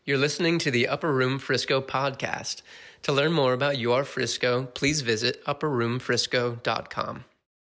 You're listening to the Upper Room Frisco podcast. To learn more about your Frisco, please visit upperroomfrisco.com.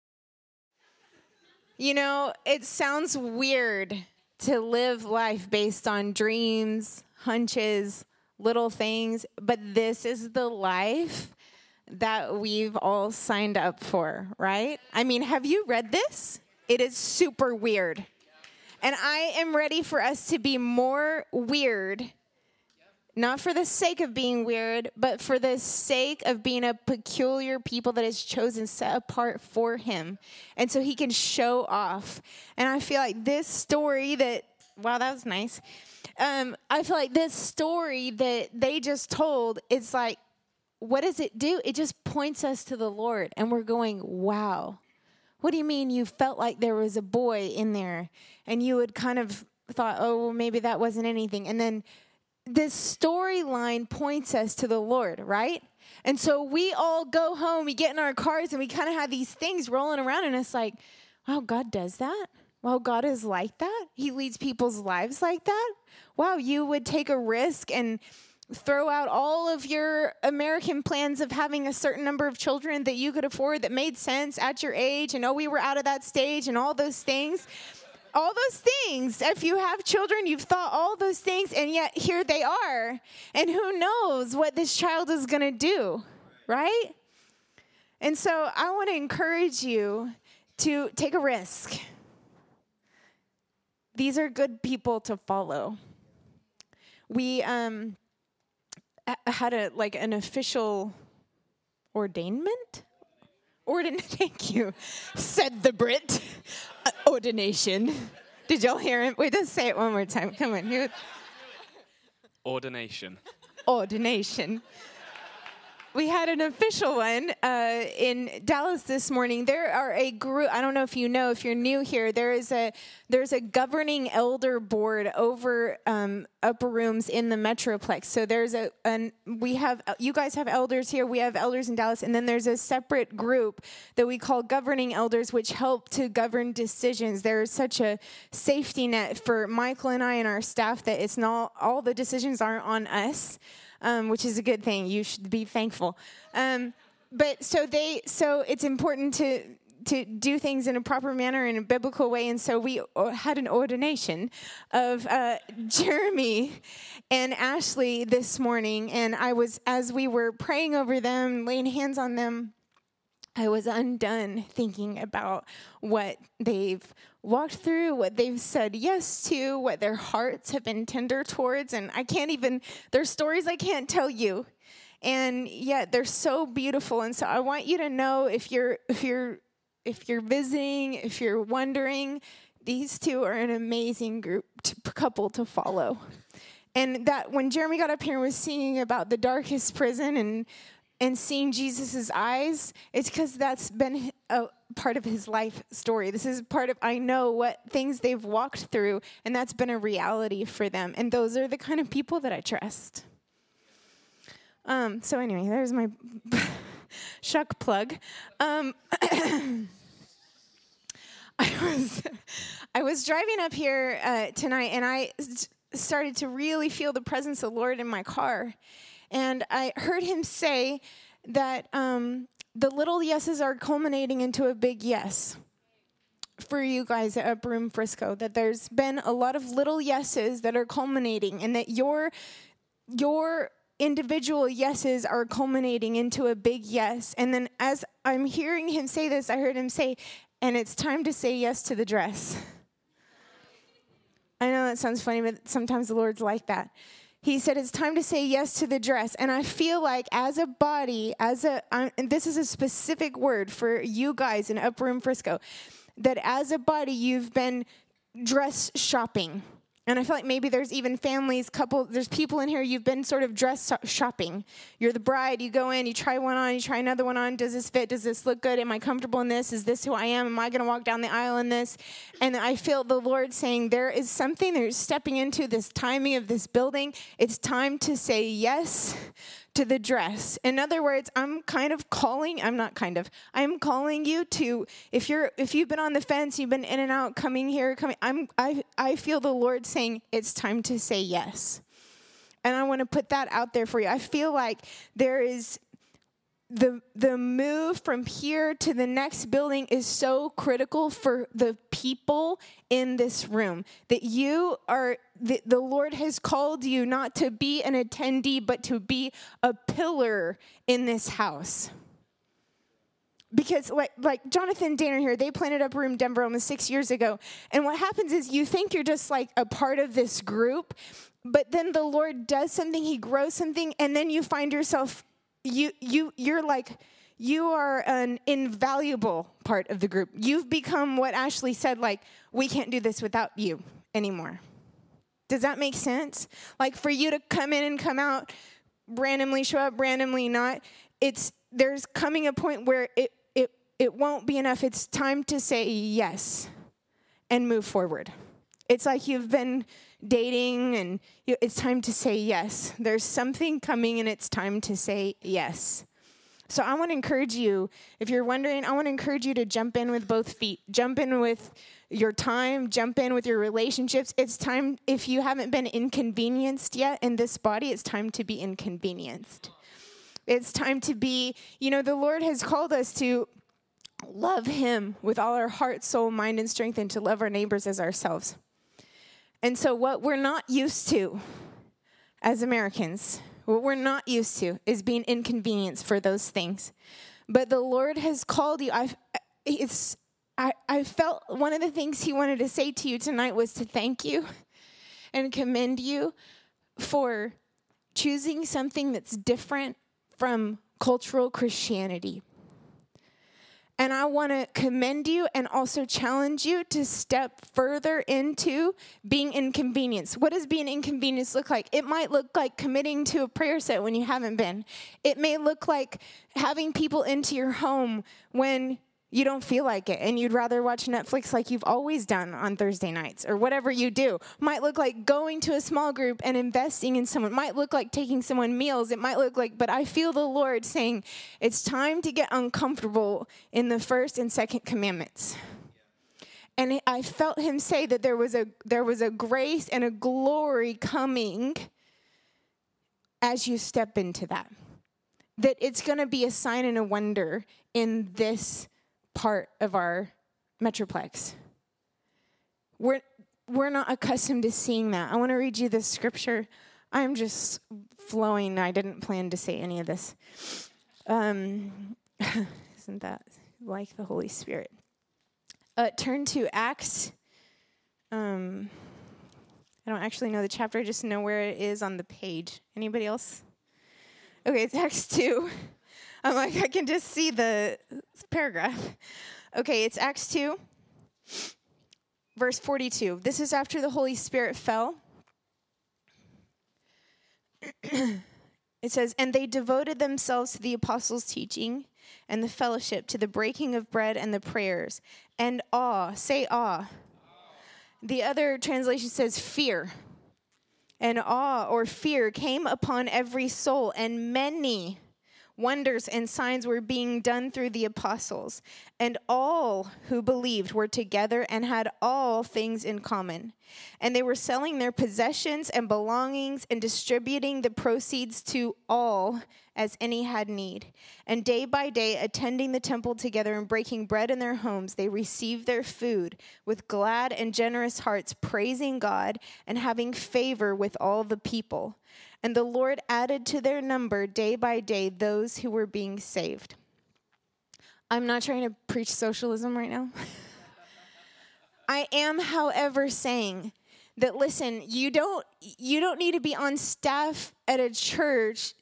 You know, it sounds weird to live life based on dreams, hunches, little things, but this is the life that we've all signed up for, right? I mean, have you read this? It is super weird. And I am ready for us to be more weird, not for the sake of being weird, but for the sake of being a peculiar people that is chosen, set apart for him. And so he can show off. And I feel like this story wow, that was nice. I feel like this story that they just told, it's like, what does it do? It just points us to the Lord. And we're going, wow. What do you mean you felt like there was a boy in there? And you would kind of thought, oh, well, maybe that wasn't anything. And then this storyline points us to the Lord, right? And so we all go home, we get in our cars, and we kind of have these things rolling around, and it's like, wow, God does that? Wow, God is like that? He leads people's lives like that? Wow, you would take a risk and throw out all of your American plans of having a certain number of children that you could afford that made sense at your age, and we were out of that stage, and all those things. All those things, if you have children, you've thought all those things, and yet here they are. And who knows what this child is going to do, right? And so I want to encourage you to take a risk. These are good people to follow. We had an official ordainment? Thank you, said the Brit. Ordination. Did y'all hear him? Wait, let's say it one more time. Come on. Ordination. We had an official one in Dallas this morning. There are a group, I don't know if you know, if you're new here, there's a governing elder board over upper rooms in the Metroplex. So you guys have elders here, we have elders in Dallas, and then there's a separate group that we call governing elders, which help to govern decisions. There's such a safety net for Michael and I and our staff that it's not, all the decisions aren't on us. Which is a good thing. You should be thankful. But so it's important to do things in a proper manner, in a biblical way. And so we had an ordination of Jeremy and Ashley this morning. And as we were praying over them, laying hands on them, I was undone thinking about what they've walked through, what they've said yes to, what their hearts have been tender towards, and there's stories I can't tell you, and yet they're so beautiful. And so I want you to know, if you're visiting, if you're wondering, these two are an amazing couple to follow. And that when Jeremy got up here and was singing about the darkest prison and seeing Jesus' eyes, it's because that's been a part of his life story. This is part of, I know what things they've walked through, and that's been a reality for them. And those are the kind of people that I trust. So anyway, there's my shuck plug. I was driving up here tonight, and I started to really feel the presence of the Lord in my car. And I heard him say that the little yeses are culminating into a big yes for you guys at Upper Room Frisco, that there's been a lot of little yeses that are culminating, and that your individual yeses are culminating into a big yes. And then as I'm hearing him say this, I heard him say, and it's time to say yes to the dress. I know that sounds funny, but sometimes the Lord's like that. He said, it's time to say yes to the dress. And I feel like as a body, and this is a specific word for you guys in Upper Room Frisco, that as a body, you've been dress shopping. And I feel like maybe there's even families, there's people in here, you've been sort of dress shopping. You're the bride, you go in, you try one on, you try another one on. Does this fit? Does this look good? Am I comfortable in this? Is this who I am? Am I going to walk down the aisle in this? And I feel the Lord saying there is something that you're stepping into, this timing of this building. It's time to say yes to the dress. In other words, I'm calling you to, if you've been on the fence, you've been in and out, coming here, I feel the Lord saying it's time to say yes. And I want to put that out there for you. I feel like there is the move from here to the next building is so critical for the people in this room. That you are, the Lord has called you not to be an attendee, but to be a pillar in this house. Because like Jonathan Danner here, they planted Upper Room Denver almost 6 years ago. And what happens is you think you're just like a part of this group, but then the Lord does something, he grows something, and then you find yourself, you're like, you are an invaluable part of the group. You've become what Ashley said, like, we can't do this without you anymore. Does that make sense? Like for you to come in and come out, randomly show up, randomly not, there's coming a point where it won't be enough. It's time to say yes and move forward. It's like you've been dating and it's time to say yes. There's something coming and it's time to say yes. So I want to encourage you, if you're wondering, I want to encourage you to jump in with both feet. Jump in with your time, jump in with your relationships. It's time, if you haven't been inconvenienced yet in this body, it's time to be inconvenienced. It's time to be, the Lord has called us to love him with all our heart, soul, mind, and strength, and to love our neighbors as ourselves. And so what we're not used to as Americans, what we're not used to is being inconvenienced for those things. But the Lord has called you. I felt one of the things he wanted to say to you tonight was to thank you and commend you for choosing something that's different from cultural Christianity. And I want to commend you and also challenge you to step further into being inconvenienced. What does being inconvenienced look like? It might look like committing to a prayer set when you haven't been. It may look like having people into your home when you don't feel like it and you'd rather watch Netflix like you've always done on Thursday nights or whatever you do. Might look like going to a small group and investing in someone. Might look like taking someone meals. It might look like, but I feel the Lord saying it's time to get uncomfortable in the first and second commandments. And I felt him say that there was a grace and a glory coming as you step into that. That it's going to be a sign and a wonder in this part of our metroplex. We're not accustomed to seeing that. I want to read you this scripture. I'm just flowing. I didn't plan to say any of this. Isn't that like the Holy Spirit? Turn to Acts. I don't actually know the chapter. I just know where it is on the page. Anybody else? Okay, it's Acts 2. I'm like, I can just see the paragraph. Okay, it's Acts 2, verse 42. This is after the Holy Spirit fell. It says, and they devoted themselves to the apostles' teaching and the fellowship, to the breaking of bread and the prayers. And awe, say awe. The other translation says fear. And awe or fear came upon every soul, and many wonders and signs were being done through the apostles, and all who believed were together and had all things in common. And they were selling their possessions and belongings and distributing the proceeds to all as any had need. And day by day, attending the temple together and breaking bread in their homes, they received their food with glad and generous hearts, praising God and having favor with all the people. And the Lord added to their number day by day those who were being saved. I'm not trying to preach socialism right now. I am, however, saying that, listen, you don't need to be on staff at a church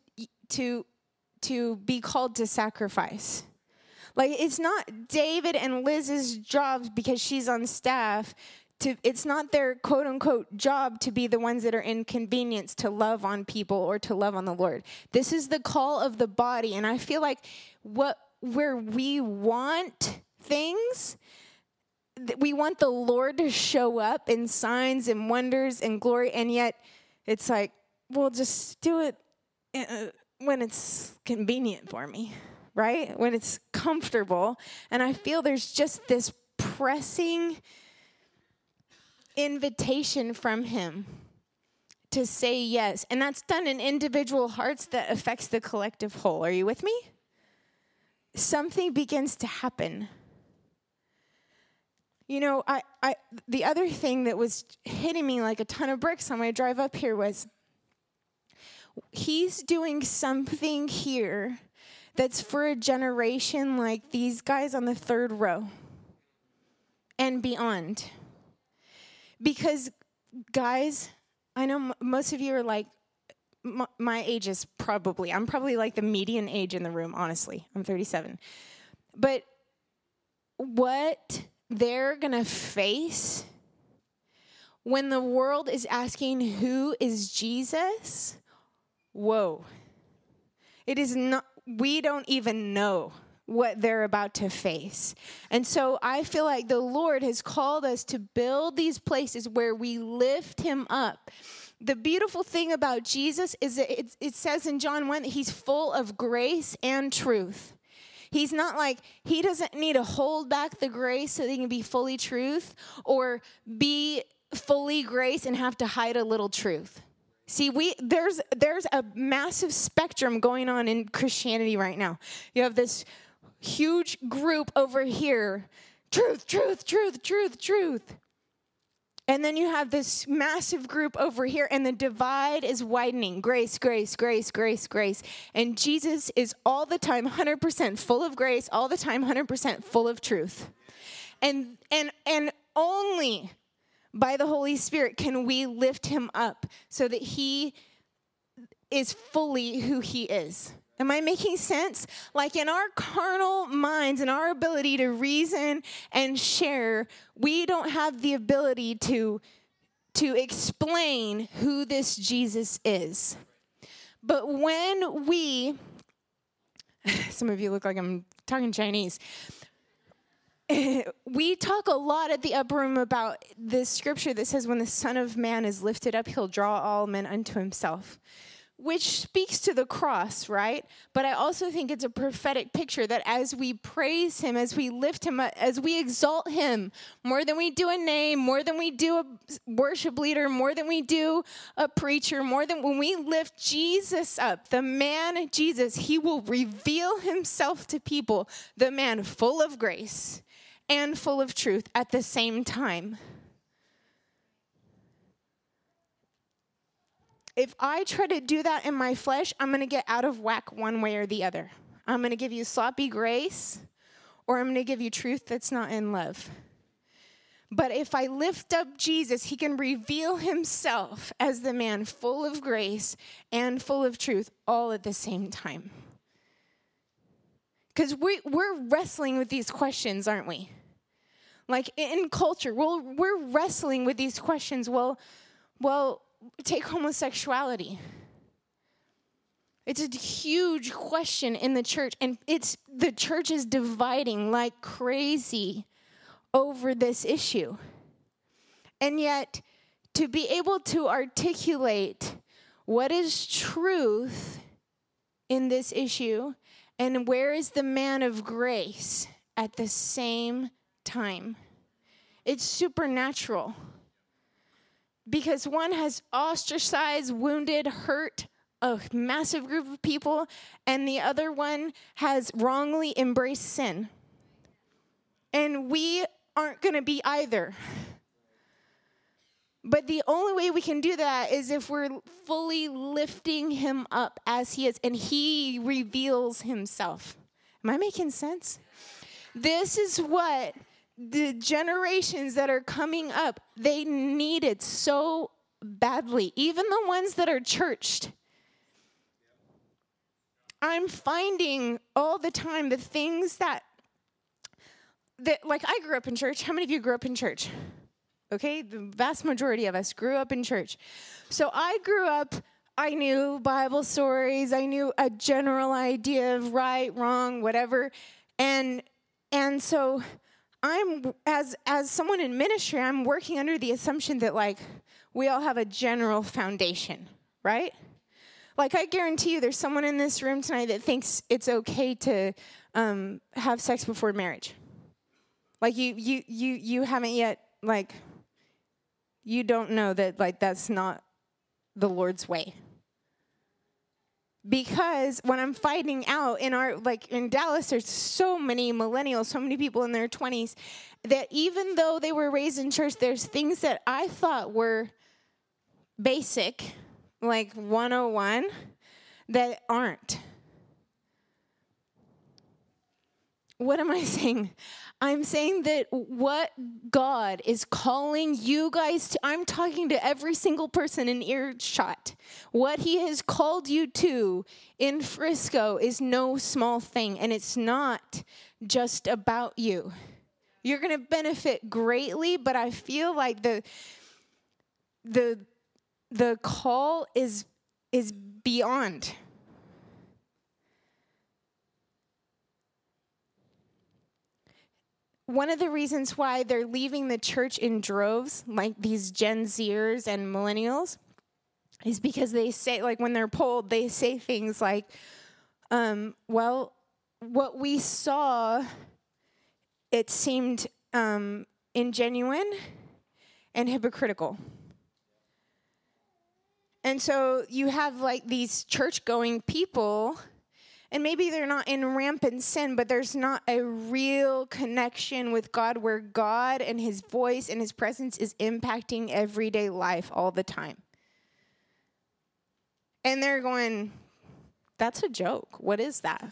to be called to sacrifice. Like, it's not David and Liz's job because she's on staff. It's not their quote-unquote job to be the ones that are inconvenienced to love on people or to love on the Lord. This is the call of the body, and I feel like where we want things, we want the Lord to show up in signs and wonders and glory, and yet it's like, well, just do it when it's convenient for me, right? When it's comfortable. And I feel there's just this pressing invitation from him to say yes. And that's done in individual hearts that affects the collective whole. Are you with me? Something begins to happen. You know, the other thing that was hitting me like a ton of bricks on my drive up here was he's doing something here that's for a generation like these guys on the third row and beyond. Because, guys, I know most of you are like, my age is I'm probably like the median age in the room, honestly. I'm 37. But what they're going to face when the world is asking, who is Jesus? Whoa. It is not, we don't even know what they're about to face. And so I feel like the Lord has called us to build these places where we lift him up. The beautiful thing about Jesus is that it says in John 1 that he's full of grace and truth. He's not like, he doesn't need to hold back the grace so that he can be fully truth or be fully grace and have to hide a little truth. See, there's a massive spectrum going on in Christianity right now. You have this huge group over here, truth, truth, truth, truth, truth. And then you have this massive group over here, and the divide is widening. Grace, grace, grace, grace, grace. And Jesus is all the time 100% full of grace, all the time 100% full of truth. And only by the Holy Spirit can we lift him up so that he is fully who he is. Am I making sense? Like in our carnal minds and our ability to reason and share, we don't have the ability to explain who this Jesus is. But when some of you look like I'm talking Chinese. We talk a lot at the upper room about this scripture that says when the Son of Man is lifted up, he'll draw all men unto himself. Which speaks to the cross, right? But I also think it's a prophetic picture that as we praise him, as we lift him up, as we exalt him, more than we do a name, more than we do a worship leader, more than we do a preacher, more than when we lift Jesus up, the man Jesus, he will reveal himself to people, the man full of grace and full of truth at the same time. If I try to do that in my flesh, I'm going to get out of whack one way or the other. I'm going to give you sloppy grace, or I'm going to give you truth that's not in love. But if I lift up Jesus, he can reveal himself as the man full of grace and full of truth all at the same time. Because we're wrestling with these questions, aren't we? Like in culture, we're wrestling with these questions. Well, take homosexuality. It's a huge question in the church, and the church is dividing like crazy over this issue. And yet, to be able to articulate what is truth in this issue and where is the man of grace at the same time, it's supernatural. Because one has ostracized, wounded, hurt a massive group of people, and the other one has wrongly embraced sin. And we aren't going to be either. But the only way we can do that is if we're fully lifting him up as he is, and he reveals himself. Am I making sense? This is what the generations that are coming up, they need it so badly. Even the ones that are churched. I'm finding all the time the things that like I grew up in church. How many of you grew up in church? Okay, the vast majority of us grew up in church. So I grew up, I knew Bible stories. I knew a general idea of right, wrong, whatever. And so I'm, as someone in ministry, I'm working under the assumption that, like, we all have a general foundation, right? Like, I guarantee you there's someone in this room tonight that thinks it's okay to have sex before marriage. Like, you haven't yet, like, you don't know that, like, that's not the Lord's way. Because when I'm finding out in Dallas, there's so many millennials, so many people in their 20s, that even though they were raised in church, there's things that I thought were basic, like 101, that aren't. What am I saying? I'm saying that what God is calling you guys to, I'm talking to every single person in earshot. What he has called you to in Frisco is no small thing, and it's not just about you. You're going to benefit greatly, but I feel like the call is beyond. One of the reasons why they're leaving the church in droves, like these Gen Zers and millennials, is because they say, like when they're polled, they say things like, well, what we saw, it seemed ingenuine and hypocritical. And so you have like these church-going people, and maybe they're not in rampant sin, but there's not a real connection with God where God and his voice and his presence is impacting everyday life all the time. And they're going, that's a joke. What is that?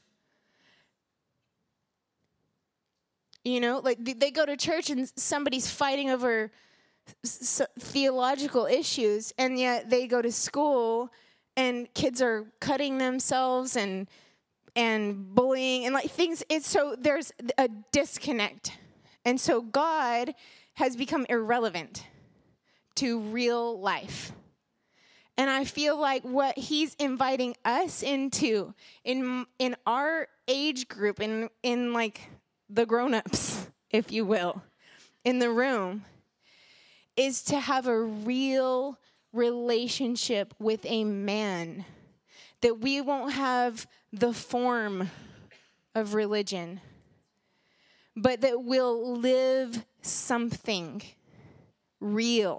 You know, like they go to church and somebody's fighting over theological issues, and yet they go to school and kids are cutting themselves and bullying and like things. It's so there's a disconnect. And so God has become irrelevant to real life. And I feel like what he's inviting us into in our age group, in like the grown-ups, if you will, in the room, is to have a real relationship with a man, that we won't have the form of religion, but that we'll live something real.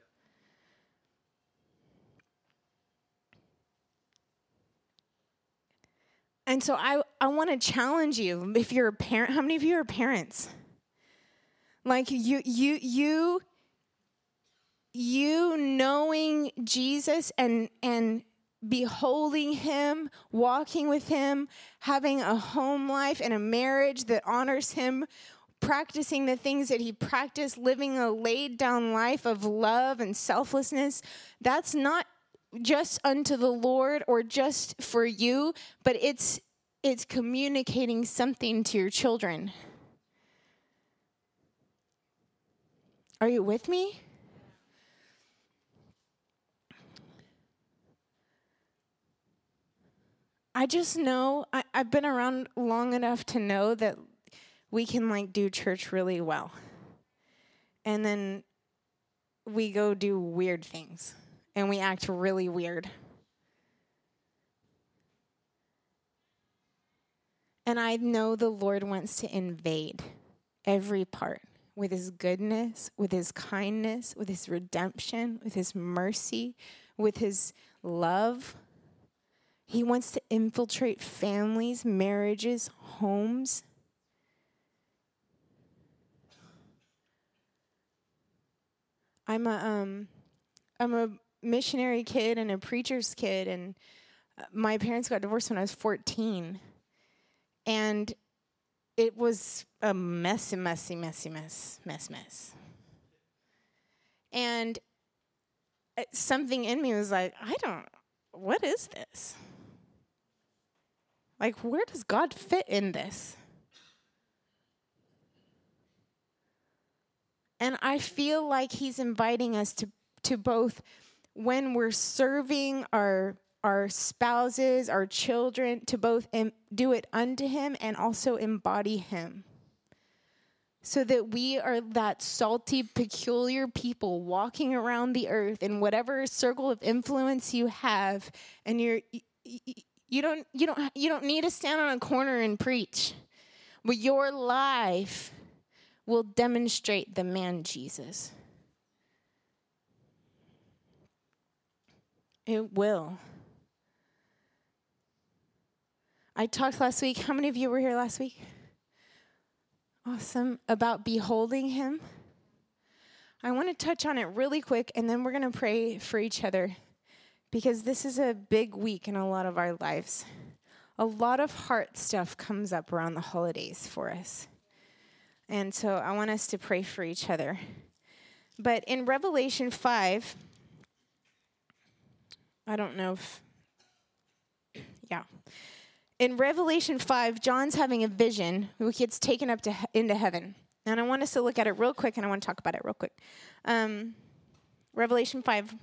And so I want to challenge you, if you're a parent, how many of you are parents? Like you knowing Jesus and beholding him, walking with him, having a home life and a marriage that honors him, practicing the things that he practiced, living a laid down life of love and selflessness, that's not just unto the Lord or just for you, but it's communicating something to your children. Are you with me? I just know, I've been around long enough to know that we can like do church really well. And then we go do weird things. And we act really weird. And I know the Lord wants to invade every part with his goodness, with his kindness, with his redemption, with his mercy, with his love. He wants to infiltrate families, marriages, homes. I'm a missionary kid and a preacher's kid, and my parents got divorced when I was 14. And it was a messy. And something in me was like, what is this? Like, where does God fit in this? And I feel like he's inviting us to both, when we're serving our spouses, our children, to both do it unto him and also embody him. So that we are that salty, peculiar people walking around the earth in whatever circle of influence you have, and you don't need to stand on a corner and preach, but your life will demonstrate the man Jesus. It will. I talked last week. How many of you were here last week? Awesome. About beholding him. I want to touch on it really quick, and then we're going to pray for each other, because this is a big week in a lot of our lives. A lot of heart stuff comes up around the holidays for us. And so I want us to pray for each other. But in Revelation 5, I don't know if, in Revelation 5, John's having a vision who gets taken up into heaven. And I want us to look at it real quick, and I want to talk about it real quick. Revelation 5,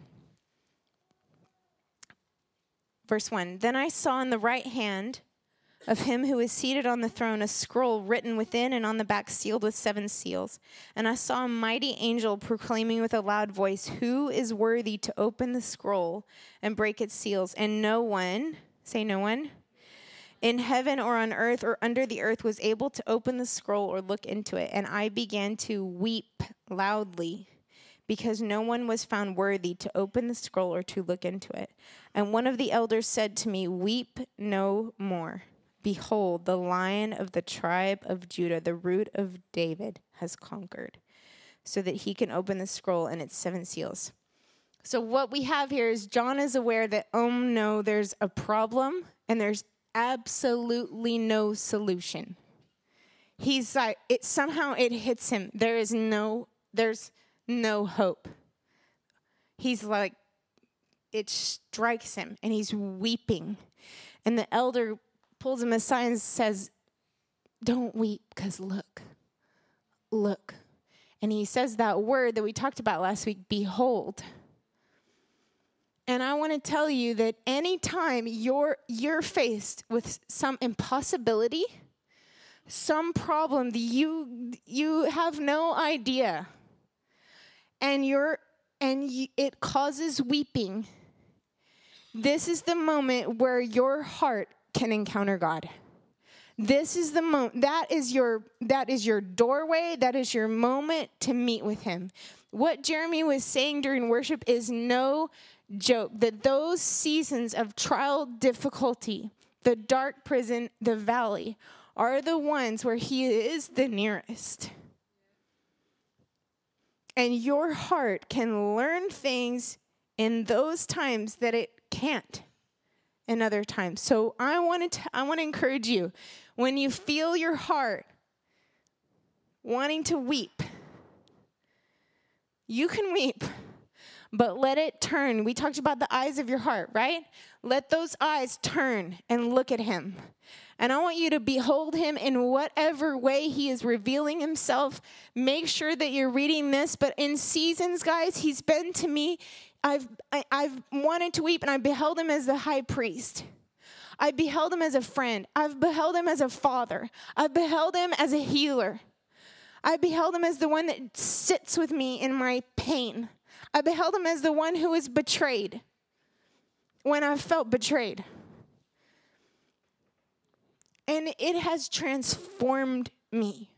verse 1. Then I saw in the right hand of him who is seated on the throne a scroll written within and on the back sealed with 7 seals. And I saw a mighty angel proclaiming with a loud voice, "Who is worthy to open the scroll and break its seals?" And no one, say no one, in heaven or on earth or under the earth was able to open the scroll or look into it. And I began to weep loudly, because no one was found worthy to open the scroll or to look into it. And one of the elders said to me, "Weep no more. Behold, the Lion of the tribe of Judah, the Root of David, has conquered, so that he can open the scroll and its 7 seals." So what we have here is John is aware that, oh no, there's a problem, and there's absolutely no solution. He's like, it hits him. There's no hope. He's like, it strikes him, and he's weeping. And the elder pulls him aside and says, "Don't weep, because look. And he says that word that we talked about last week, behold. And I want to tell you that anytime you're faced with some impossibility, some problem that you have no idea, and it causes weeping, this is the moment where your heart can encounter God. This is the moment. That is your doorway. That is your moment to meet with him. What Jeremy was saying during worship is no joke, that those seasons of trial, difficulty, the dark prison, the valley, are the ones where he is the nearest. And your heart can learn things in those times that it can't in other times. So I want to encourage you, when you feel your heart wanting to weep, you can weep, but let it turn. We talked about the eyes of your heart, right? Let those eyes turn and look at him. And I want you to behold him in whatever way he is revealing himself. Make sure that you're reading this. But in seasons, guys, he's been to me. I've wanted to weep, and I beheld him as the high priest. I beheld him as a friend. I've beheld him as a father. I've beheld him as a healer. I beheld him as the one that sits with me in my pain. I beheld him as the one who was betrayed when I felt betrayed. And it has transformed me.